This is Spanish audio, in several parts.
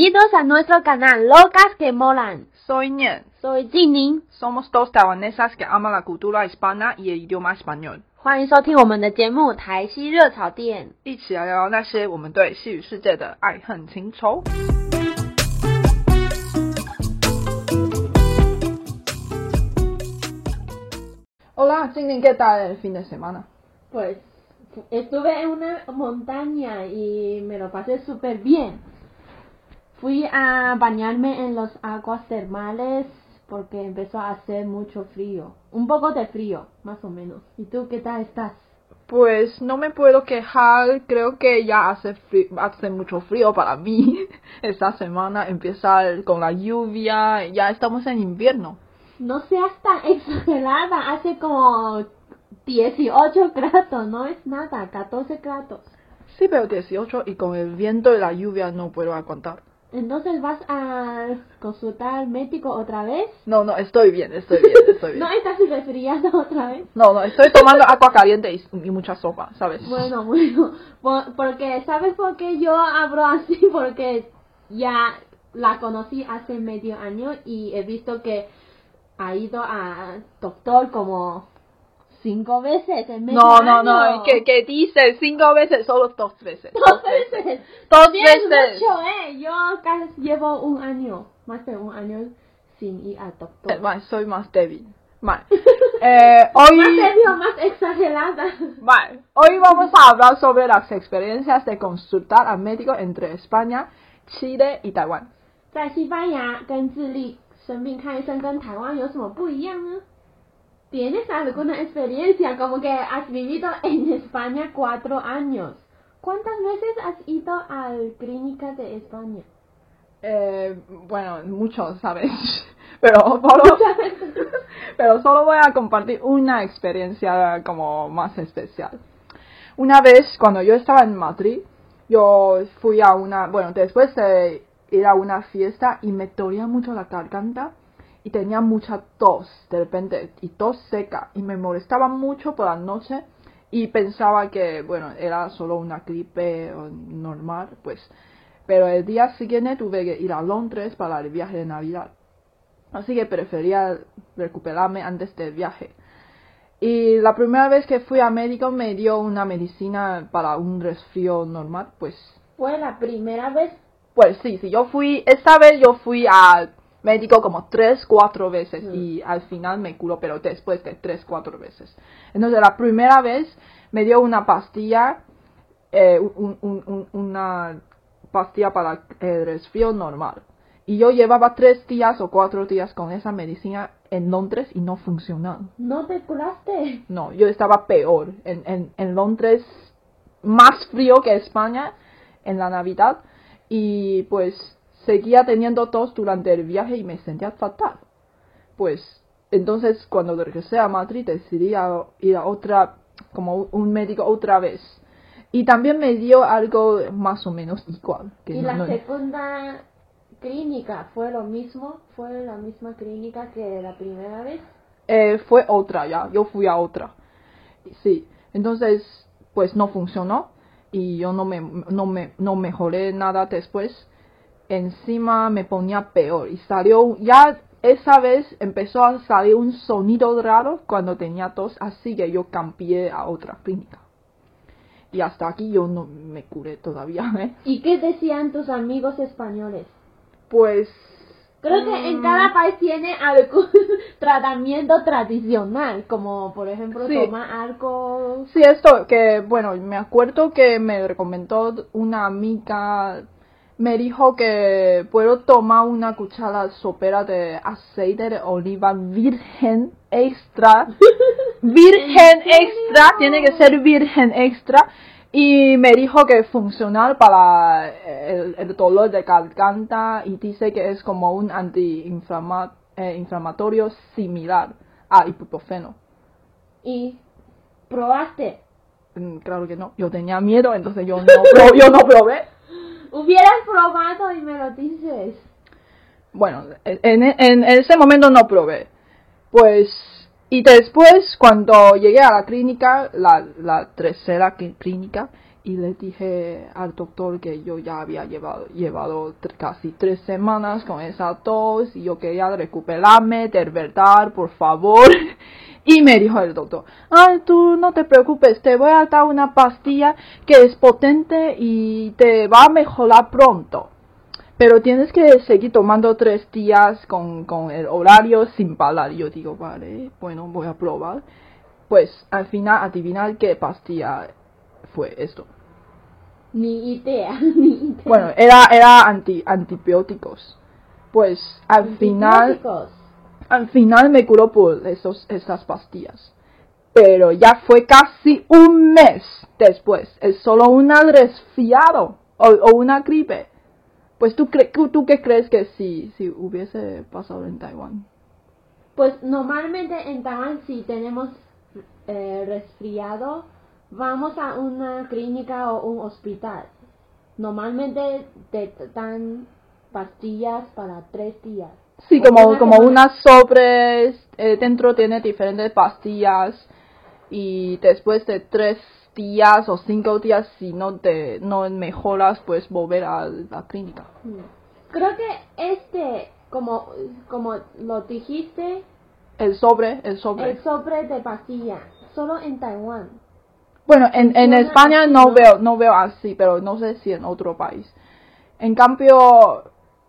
Bienvenidos a nuestro canal Locas que Molan. Soy Nian. Soy Jingning. Somos dos taiwanesas que aman la cultura hispana y el idioma español. 欢迎收听我们的节目《台西熱炒店》， 一起来聊聊那些我们对西語世界的愛恨情仇。Hola, Jingning, ¿qué tal el fin de semana? Pues estuve en una montaña y me lo pasé súper bien. Fui a bañarme en las aguas termales porque empezó a hacer mucho frío. Un poco de frío, más o menos. ¿Y tú qué tal estás? Pues no me puedo quejar, creo que ya hace mucho frío para mí. Esta semana empieza con la lluvia, ya estamos en invierno. No seas tan exagerada, hace como 18 grados, no es nada, 14 grados. Sí, pero 18 y con el viento y la lluvia no puedo aguantar. Entonces, ¿vas a consultar al médico otra vez? No, estoy bien. ¿No estás resfriada otra vez? No, estoy tomando agua caliente y mucha sopa, ¿sabes? Bueno, porque, ¿sabes por qué yo hablo así? Porque ya la conocí hace medio año y he visto que ha ido al doctor como 5 veces en medio año. No, que dice 5 veces, solo 2 veces. 2 veces. 2 veces. veces. Mucho, yo casi llevo un año, más de un año sin ir al doctor. Vale, soy más débil. Vale. Hoy... ¿Más débil o más exagerada? Vale, hoy vamos a hablar sobre las experiencias de consultar al médico entre España, Chile y Taiwán. 在西班牙跟智利生病看醫生跟台灣有什麼不一樣呢？ ¿Tienes alguna experiencia como que has vivido en España 4 años? ¿Cuántas veces has ido a la clínica de España? Bueno, muchos, ¿sabes? Pero solo voy a compartir una experiencia como más especial. Una vez, cuando yo estaba en Madrid, yo fui a después de ir a una fiesta y me dolía mucho la garganta. Y tenía mucha tos de repente, y tos seca, y me molestaba mucho por la noche, y pensaba que, era solo una gripe normal, pues. Pero el día siguiente tuve que ir a Londres para el viaje de Navidad, así que prefería recuperarme antes del viaje. Y la primera vez que fui a médico me dio una medicina para un resfrío normal, pues. ¿Fue la primera vez? Pues sí, esta vez yo fui al médico como 3-4 veces y al final me curó, pero después de 3-4 veces. Entonces la primera vez me dio una pastilla, una pastilla para el resfrío normal. Y yo llevaba 3 días o 4 días con esa medicina en Londres y no funcionaba. ¿No te curaste? No, yo estaba peor. En Londres, más frío que España en la Navidad, y pues seguía teniendo tos durante el viaje y me sentía fatal. Pues entonces cuando regresé a Madrid decidí ir a un médico otra vez. Y también me dio algo más o menos igual. ¿Y la segunda clínica fue lo mismo? ¿Fue la misma clínica que la primera vez? Fue otra ya, yo fui a otra. Sí, entonces pues no funcionó y yo no mejoré nada después. Encima me ponía peor y esa vez empezó a salir un sonido raro cuando tenía tos, así que yo cambié a otra clínica. Y hasta aquí yo no me curé todavía, ¿eh? ¿Y qué decían tus amigos españoles? Pues creo que en cada país tiene algún tratamiento tradicional, como por ejemplo tomar algo. Sí, esto que, me acuerdo que me recomendó una amiga. Me dijo que puedo tomar una cuchara sopera de aceite de oliva virgen extra. Virgen extra, tiene que ser virgen extra. Y me dijo que es funcional para el dolor de garganta y dice que es como un antiinflamatorio similar a ibuprofeno. ¿Y probaste? Claro que no, yo tenía miedo, entonces yo no probé. Hubieras probado y me lo dices. Bueno, en ese momento no probé. Pues, y después cuando llegué a la clínica, la tercera clínica, y le dije al doctor que yo ya había llevado casi 3 semanas con esa tos y yo quería recuperarme, de verdad, por favor. Y me dijo el doctor, tú no te preocupes, te voy a dar una pastilla que es potente y te va a mejorar pronto. Pero tienes que seguir tomando 3 días con el horario sin parar. Yo digo, vale, bueno, voy a probar. Pues al final, adivinar qué pastilla fue esto. Ni idea, ni idea. Bueno, era antibióticos. Pues al final me curó por esas pastillas. Pero ya fue casi un mes después. Es solo un resfriado o una gripe. Pues ¿tú qué crees que si hubiese pasado en Taiwán? Pues normalmente en Taiwán si tenemos resfriado, vamos a una clínica o un hospital. Normalmente te dan pastillas para 3 días. Sí, como unas sobres, dentro tiene diferentes pastillas y después de 3 días o 5 días, si no mejoras, pues volver a la clínica. Creo que como lo dijiste, el sobre de pastilla, solo en Taiwán. Bueno, en España no veo así, pero no sé si en otro país. En cambio,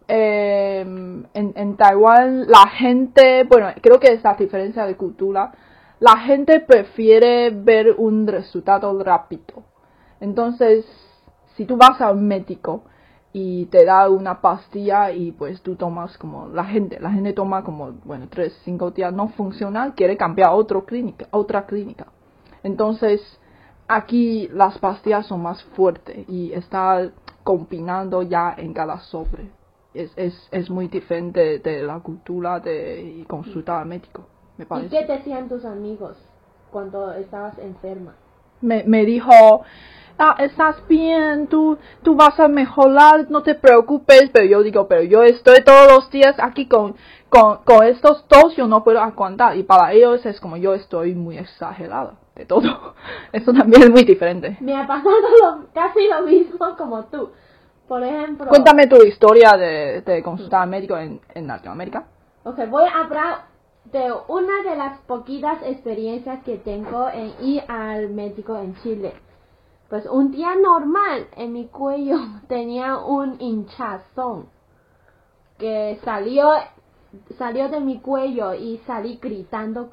en Taiwán la gente, bueno, creo que es la diferencia de cultura, la gente prefiere ver un resultado rápido. Entonces, si tú vas a un médico y te da una pastilla y pues tú tomas como la gente toma como, bueno, 3-5 días no funciona, quiere cambiar a otra clínica. Entonces, aquí las pastillas son más fuertes y está combinando ya en cada sobre. Es muy diferente de la cultura de consultar al médico, me parece. ¿Y qué te decían tus amigos cuando estabas enferma? Me dijo, estás bien, tú vas a mejorar, no te preocupes, pero yo digo, pero yo estoy todos los días aquí con estos tos, yo no puedo aguantar, y para ellos es como yo estoy muy exagerada de todo. Eso también es muy diferente. Me ha pasado casi lo mismo como tú. Por ejemplo, cuéntame tu historia de consultar al médico en Latinoamérica. Okay, voy a hablar de una de las poquitas experiencias que tengo en ir al médico en Chile. Pues un día normal en mi cuello tenía un hinchazón que salió de mi cuello y salí gritando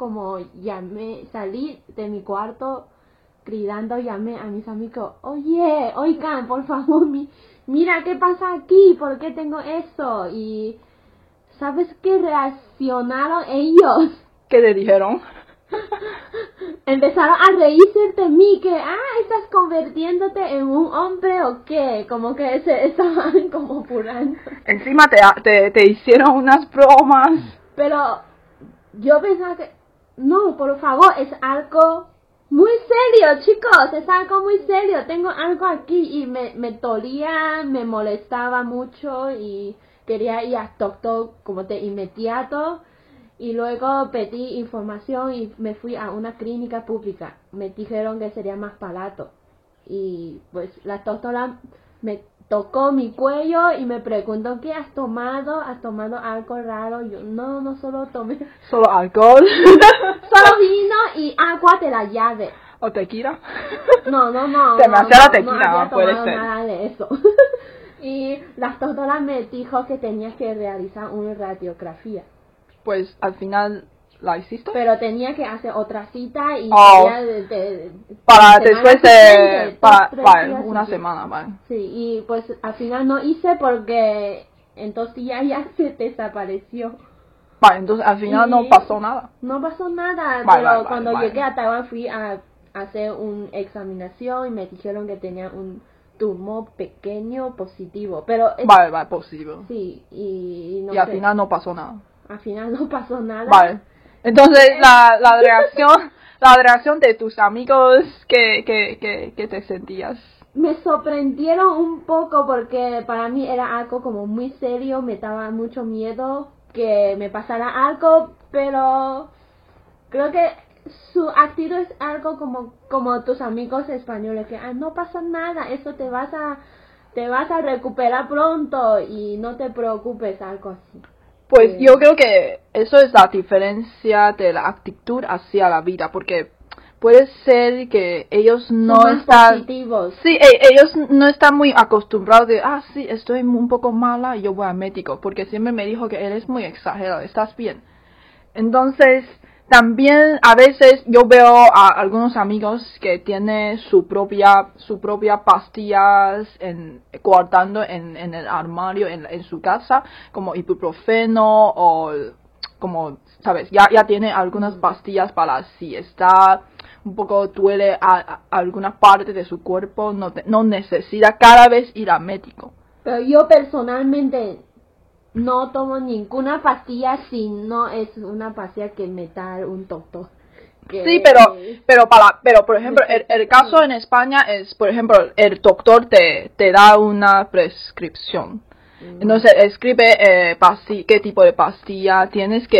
salí de mi cuarto gritando, llamé a mis amigos, oigan, por favor, mira qué pasa aquí, ¿por qué tengo eso? Y ¿sabes qué reaccionaron ellos? ¿Qué le dijeron? Empezaron a reírse de mí, que, ¿estás convirtiéndote en un hombre o qué? Como que se estaban como burlando. Encima te hicieron unas bromas. Pero yo pensaba que, no, por favor, es algo muy serio, chicos, es algo muy serio. Tengo algo aquí y me dolía, me molestaba mucho y quería ir al doctor como de inmediato. Y luego pedí información y me fui a una clínica pública. Me dijeron que sería más barato. Y pues la doctora me tocó mi cuello y me preguntó, ¿qué has tomado? ¿Has tomado algo raro? Yo, no solo tomé. ¿Solo alcohol? Solo vino y agua de la llave. ¿O tequila? No. Demasiada tequila, no puede ser. Nada de eso. Y la doctora me dijo que tenía que realizar una radiografía. Pues al final la hiciste. Pero tenía que hacer otra cita y para después para una semana, vale. Sí, y pues al final no hice porque en 2 días ya se desapareció. Vale, entonces al final no pasó nada. No pasó nada, pero cuando llegué a Taiwán fui a hacer una examinación y me dijeron que tenía un tumor pequeño positivo, pero vale, positivo. Sí, y al final no pasó nada. Al final no pasó nada. Vale. Entonces la reacción de tus amigos, ¿qué te sentías? Me sorprendieron un poco porque para mí era algo como muy serio, me daba mucho miedo que me pasara algo, pero creo que su actitud es algo como tus amigos españoles, que no pasa nada, eso te vas a recuperar pronto y no te preocupes, algo así. Pues yo creo que eso es la diferencia de la actitud hacia la vida, porque puede ser que ellos no están positivos. Sí, ellos no están muy acostumbrados de, sí, estoy un poco mala y yo voy al médico, porque siempre me dijo que eres muy exagerado, estás bien. Entonces, también a veces yo veo a algunos amigos que tienen su propia pastillas guardando en el armario en su casa, como ibuprofeno o como, sabes, ya tiene algunas pastillas para si está un poco duele a alguna parte de su cuerpo, no necesita cada vez ir al médico. Pero yo personalmente no tomo ninguna pastilla si no es una pastilla que me da un doctor. Sí, pero por ejemplo, el caso en España es, por ejemplo, el doctor te da una prescripción. Entonces escribe qué tipo de pastilla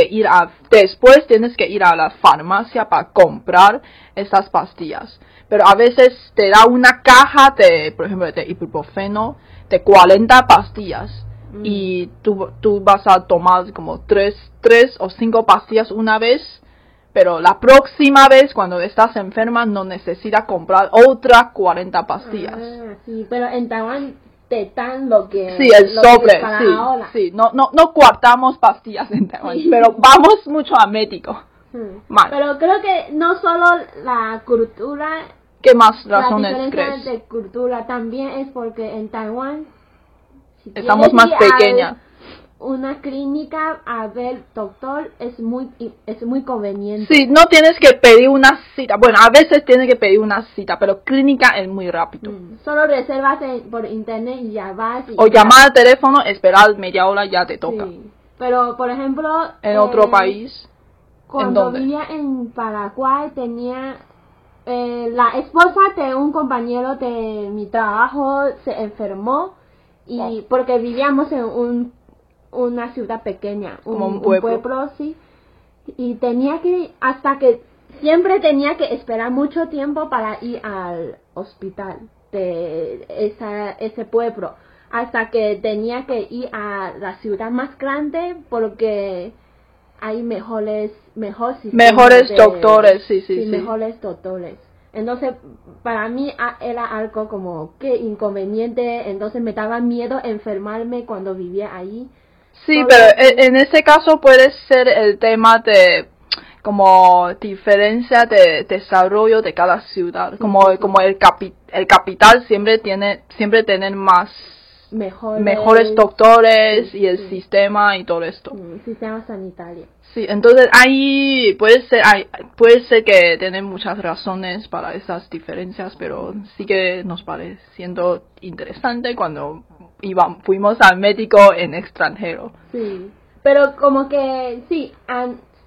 después tienes que ir a la farmacia para comprar esas pastillas. Pero a veces te da una caja por ejemplo, de ibuprofeno de 40 pastillas. Y tú vas a tomar como 3 o 5 pastillas una vez, pero la próxima vez cuando estás enferma no necesitas comprar otras 40 pastillas. Sí, pero en Taiwán te dan lo que sí, el sobre, sí, no guardamos pastillas en Taiwán, sí. Pero vamos mucho al médico. Pero creo que no solo la cultura, ¿qué más razones crees? La diferencia de cultura también es porque en Taiwán estamos más pequeñas. Una clínica a ver doctor es muy conveniente. Sí, no tienes que pedir una cita. Bueno, a veces tienes que pedir una cita, pero clínica es muy rápido. Solo reservas por internet y ya vas. O llamar al teléfono, esperar media hora, ya te toca. Sí. Pero, por ejemplo, en otro país. Cuando vivía en Paraguay tenía la esposa de un compañero de mi trabajo se enfermó y porque vivíamos en una ciudad pequeña, un pueblo, sí, y siempre tenía que esperar mucho tiempo para ir al hospital de ese pueblo, hasta que tenía que ir a la ciudad más grande porque hay mejores doctores, sí. Mejores doctores. Entonces, para mí era algo como que inconveniente, entonces me daba miedo enfermarme cuando vivía ahí. Sí, pero en ese caso puede ser el tema de como diferencia de desarrollo de cada ciudad, como el capital siempre tienen más mejores doctores y el sistema y todo esto. Sistema sanitario. Sí, entonces ahí puede ser que tienen muchas razones para esas diferencias, pero sí que nos pareciendo interesante cuando fuimos al médico en extranjero. Sí, pero como que sí, a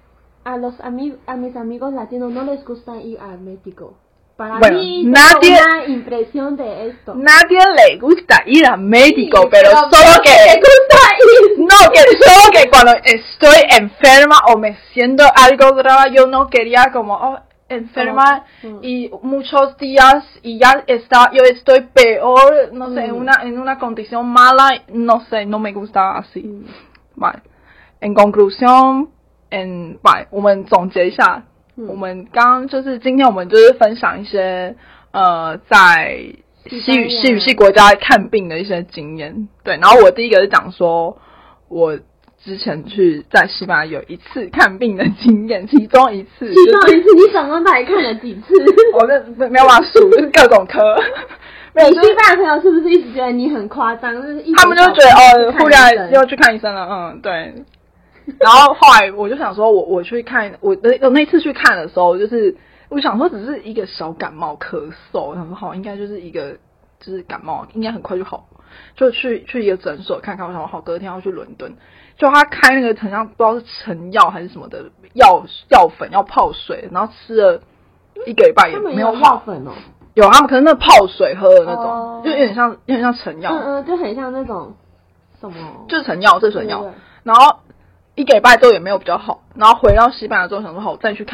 mis amigos latinos no les gusta ir al médico. Para mí tengo una impresión de esto. Nadie le gusta ir al médico, sí, pero solo que le gusta ir. No, que solo que cuando estoy enferma o me siento algo grave, yo no quería como enferma y muchos días y yo estoy peor, no sé, en una condición mala, no sé, no me gusta así. Vale. En conclusión, 我们总结一下，我们刚就是今天我们就是分享一些在西语系国家看病的一些经验。对，然后我第一个是讲说我之前在西班牙有一次看病的经驗，其中一次， 你總共到底看了幾次？ 我沒有辦法數，就是各種科。 你西班牙朋友是不是一直覺得你很誇張？就是他們就覺得忽然又去看醫生了，對。然後後來我就想說我去看我那次去看的時候，就是我想說只是一個小感冒咳嗽，我想說好應該就是一個就是感冒，應該很快就好，就去一個診所看看。我想說好隔天要去倫敦，就他開那個很像不知道是成藥還是什麼的藥粉要泡水，然後吃了一個禮拜也沒有好。他們有藥粉哦？有，他們可能那泡水喝的那種，就有點像成藥， 就很像那種什麼， 就是成藥，這是成藥。然後一個禮拜之後也沒有比較好，然後回到西班牙之後想說好，我再去看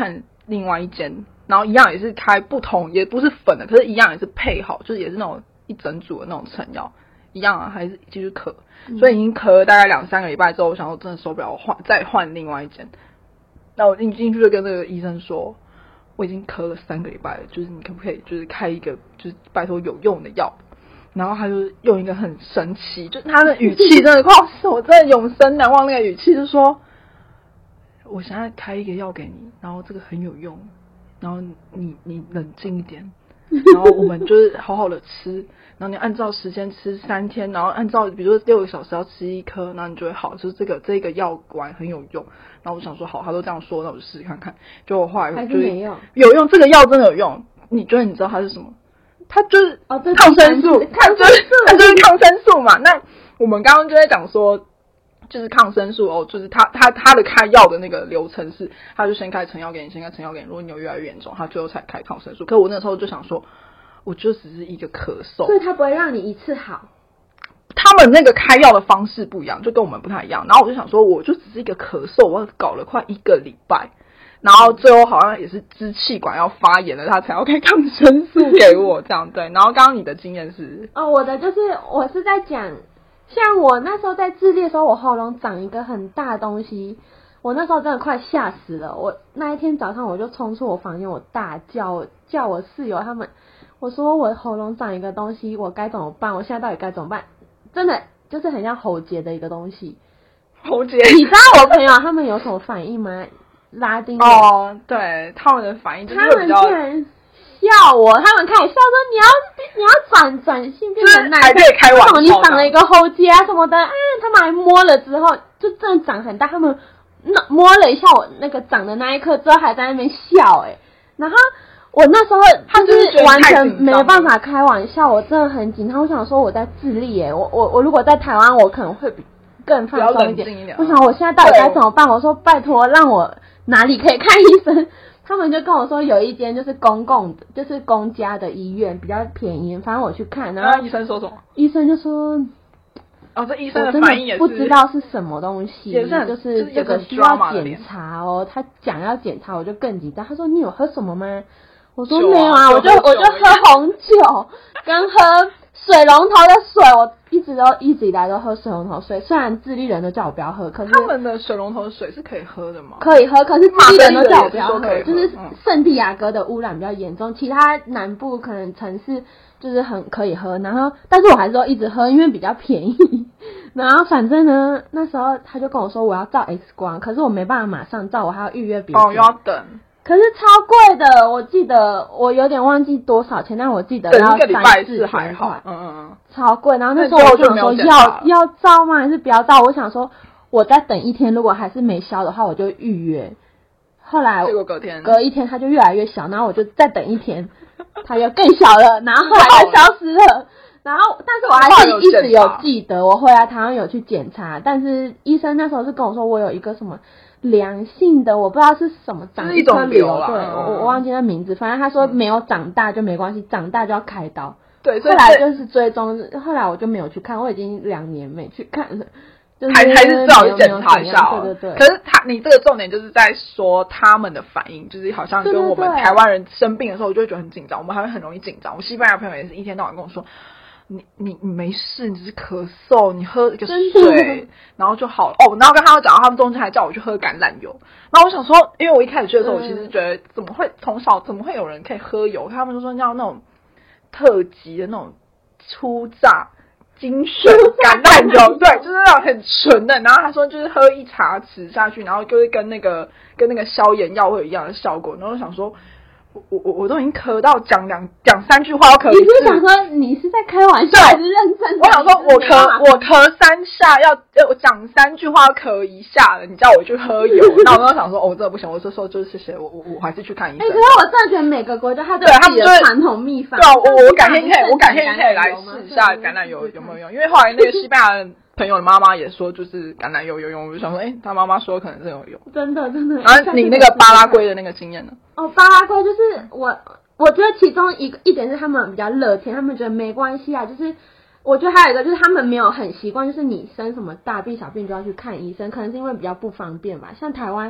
另外一間，然後一樣也是開不同，也不是粉的，可是一樣也是配好，就是也是那種一整組的那種成藥，一樣啊，還是繼續咳，所以已經咳了大概2-3個禮拜之後，我想說真的受不了，我再換另外一間。那我進去就跟那個醫生說，我已經咳了3個禮拜了，就是你可不可以就是開一個就是拜託有用的藥？然後他就用一個很神奇，就是他的語氣真的哇，我真的永生難忘那個語氣，就是說我現在開一個藥給你，然後這個很有用，然後你冷靜一點，然後我們就是好好的吃，然後你按照時間吃3天，然後按照比如說6個小時要吃1顆，然後你就會好，就是這個藥丸很有用。然後我想說好，他都這樣說，那我就試試看看。結果後來還是沒用， 有用，這個藥真的有用。你知道它是什麼？它就是抗生素，它就是抗生素嘛。那我們剛剛就在講說，就是抗生素哦，就是他的開藥的那個流程是，他就先開成药给你，先開成药给你，如果你有越來越嚴重，他最後才開抗生素。可我那時候就想說，我就只是一個咳嗽， 所以他不會讓你一次好。 他們那個開藥的方式不一樣，就跟我們不太一樣。然後我就想說，我就只是一個咳嗽，我搞了快1個禮拜，然後最後好像也是支氣管要發炎了，他才要開抗生素給我這樣。对，然後剛剛你的經驗是？ 我的就是我是在講，像我那時候在智利的時候，我喉嚨長一個很大的東西，我那時候真的快嚇死了。我那一天早上我就衝出我房間，我大叫我室友他們，我說我喉嚨長一個東西，我該怎麼辦？我現在到底該怎麼辦？真的就是很像喉結的一個東西。 喉結， 你知道我朋友他們有什麼反應嗎？拉丁人對，他們的反應就是他们居然笑我，他們開始笑說你要轉性變成男的，為什麼你長了一個喉結啊什麼的啊？他們還摸了之後，就真的長很大。他們摸了一下我那個長的那一刻之後，還在那邊笑然後我那時候就是完全沒辦法開玩笑，我真的很緊張。我想說我在智利我如果在台灣，我可能會更放鬆一點。我想我現在到底該怎麼辦？我說拜託讓我哪裡可以看醫生？他們就跟我說有一間就是公共的，就是公家的醫院比較便宜，反正我去看，然後醫生說什麼？ 醫生就說， 這醫生的反應也是不知道是什麼東西，就是這個需要檢查哦。他講要檢查，我就更緊張。他說你有喝什麼嗎？我說沒有啊，我就喝紅酒跟喝水龍頭的水，我一直以來都喝水龍頭水。雖然智利人都叫我不要喝，可是他們的水龍头的水是可以喝的嗎？ 可以喝，可是智利人都叫我不要喝，就是聖地亞哥的污染比較嚴重，其他南部可能城市就是很可以喝，然後但是我還是都一直喝，因為比較便宜。然後反正呢，那時候他就跟我說我要照 X 光，可是我沒辦法馬上照，我還要預約別人。 又要等。 可是超貴的，我記得我有點忘记多少錢，但我記得要3-4千塊，超貴。然後那時候我就想說要照嗎？還是不要照？我想說我再等1天，如果還是沒消的話，我就預約。後來結果隔一天它就越來越小，然後我就再等1天，它又更小了，然後後來就消失了。然後但是我還是一直有記得，我回來台灣有去檢查，但是醫生那時候是跟我說我有一個什麼良性的，我不知道是什麼長一顆瘤，對，我忘記那名字，反正他說沒有長大就没關係，長大就要開刀。對，後來就是追蹤，後來我就沒有去看，我已經2年沒去看了，就是還是最好去檢查一下。对。可是你这個重點就是在說他們的反應，就是好像跟我們台灣人生病的時候，我就會覺得很緊張，我們還會很容易緊張。我西班牙朋友也是一天到晚跟我說。你沒事，你只是咳嗽，你喝一個水，然後就好了。然後跟他們講到，他們中間還叫我去喝橄欖油。然後我想說，因為我一開始去的時候，我其實覺得從小怎麼會有人可以喝油？他們就說要那種特級的那種初榨精選橄欖油，對，就是那種很純的。然後他說就是喝1茶匙下去，然後就是跟那個消炎藥會有一樣的效果。然後我想說。我都已經咳到講3句話要咳一次。你是想說你是在開玩笑還是認真的？我想說我咳3下我講3句話要咳1下了，你叫我去喝油，那我都想說真的不行，我就說就是謝謝我還是去看醫生。可是我真的覺得每個國家它都有自己的傳統秘方。對啊，我改天可以來試一下橄欖油有沒有用，因為後來那個西班牙人朋友的媽媽也說就是橄欖油有用，我就想說他媽媽說可能是有用。真的。然後你那個巴拉圭的那個經驗呢？巴拉圭就是我覺得其中一點是他們比較樂天，他們覺得沒關係啊。就是我覺得還有一個就是他們沒有很習慣，就是你生什麼大病小病就要去看醫生，可能是因為比較不方便吧。像台灣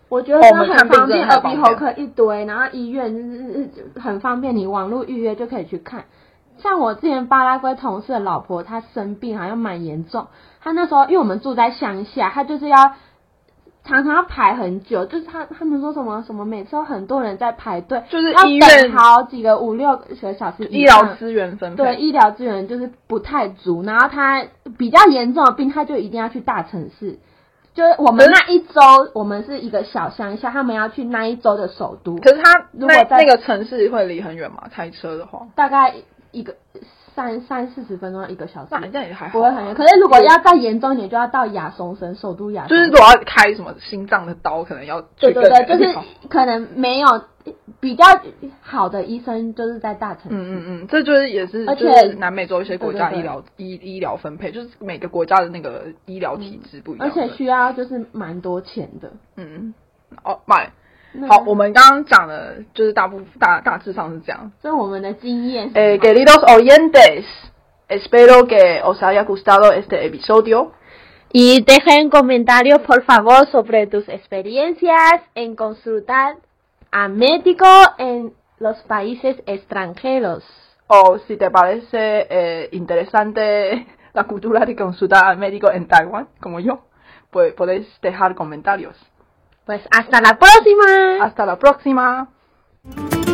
我覺得真的很方便，耳鼻喉科一堆，然後醫院就是很方便，你網絡預約就可以去看。像我之前巴拉圭同事的老婆，她生病好像蠻嚴重，她那時候因為我們住在鄉下，她就是要常常要排很久，就是他們說什麼每次都很多人在排隊， 就是医院好幾個5-6個小時， 醫療資源分配， 對，醫療資源就是不太足，然後她比較嚴重的病，她就一定要去大城市。就是我們那一周，我們是一個小鄉下，他們要去那一周的首都。 可是他如果那個城市會離很遠嗎？開車的話， 大概一個30-40分鐘，1個小時。 那也還好， 不會很遠。可是如果要再嚴重一點，就要到亞松森，首都亞松森。 就是如果要開什麼心臟的刀，可能要去更遠。 對，就是可能沒有比较好的醫生，就是在大城市。 這就是也是， 而且就是南美洲一些国家对医療分配，就是每個國家的那個醫療體制不一樣， 而且需要就是蠻多錢的。 好，我們剛剛講的就是大致上是這樣。 所以我們的經驗。 Queridos oyentes, espero que os haya gustado este episodio. Y dejen comentarios, por favor, sobre tus experiencias en consultar a médico en los países extranjeros. O si te parece interesante la cultura de consultar al médico en Taiwán, como yo, pues podéis dejar comentarios. Pues hasta la próxima. Hasta la próxima.